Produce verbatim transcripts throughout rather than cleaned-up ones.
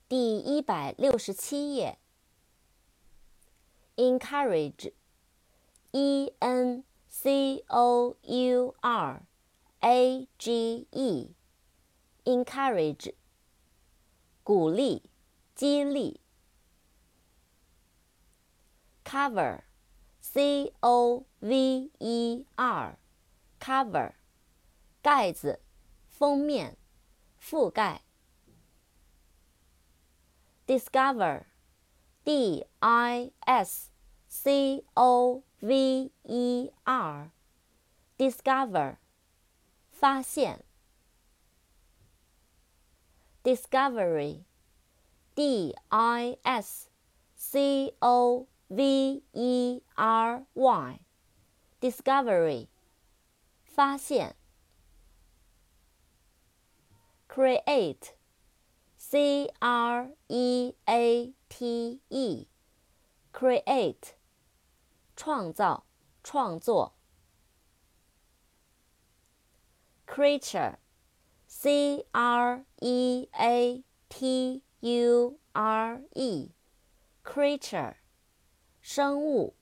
第一百六十七页。encourage, E N C O U R A G E, encourage, 鼓励、激励。cover, C O V E R, cover, 盖子、封面、覆盖。discover, D I S C O V E R, discover, 发现。discovery, D I S C O V E R Y, discovery, 发现。create, C R E A T E, create, 创造、创作。creature, C R E A T U R E, creature, 生物。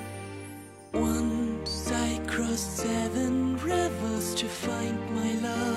Once I crossed seven rivers to find my love.